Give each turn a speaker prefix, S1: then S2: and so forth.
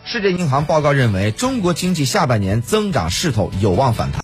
S1: 世界银行报告认为，中国经济下半年增长势头有望反弹。